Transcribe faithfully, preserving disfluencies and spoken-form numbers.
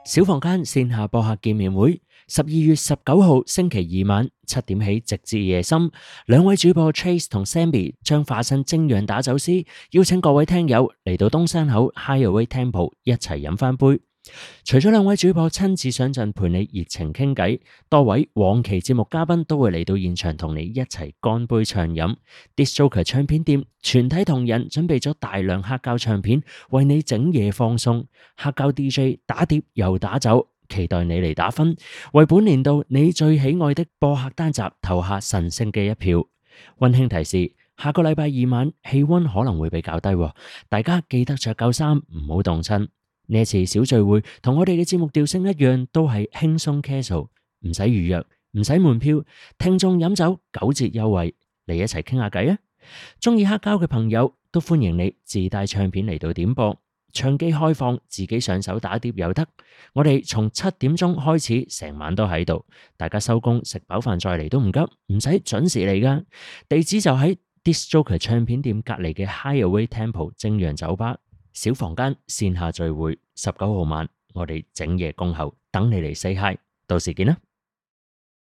小房間線下播客見面會，十二月十九號星期二晚七點起，直至夜深。兩位主播 Trace 同 Sammy 將化身精釀打酒師，邀請各位聽友嚟到東山口 Hideaway Temple 一齊飲翻杯。除咗兩位主播親自上陣陪你熱情傾偈，多位往期節目嘉賓都會嚟到現場同你一齊乾杯暢飲。Disc Joker 唱片店全體同仁準備咗大量黑膠唱片，為你整夜放送。黑膠 D J 打碟又打酒，期待你嚟打分，為本年度你最喜愛的播客單集投下神聖嘅一票。溫馨提示：下個禮拜二晚氣溫可能會比較低，大家記得着夠衫，唔好凍親。呢一次小聚會同我哋嘅節目調性一樣，都係輕鬆 casual， 唔使預約，唔使門票，聽眾飲酒九折優惠，嚟一齊傾下偈啊！中意黑膠嘅朋友都歡迎你自帶唱片嚟到點播，唱機開放，自己上手打碟又得。我哋從七點鐘開始，成晚都喺度，大家收工食飽飯再嚟都唔急，唔使準時嚟噶。地址就喺 Disc Joker 唱片店隔籬嘅 Hideaway Temple 精釀酒吧。小房間線下聚會，十九號晚我哋整夜恭候，等你嚟 say hi， 到時見啦。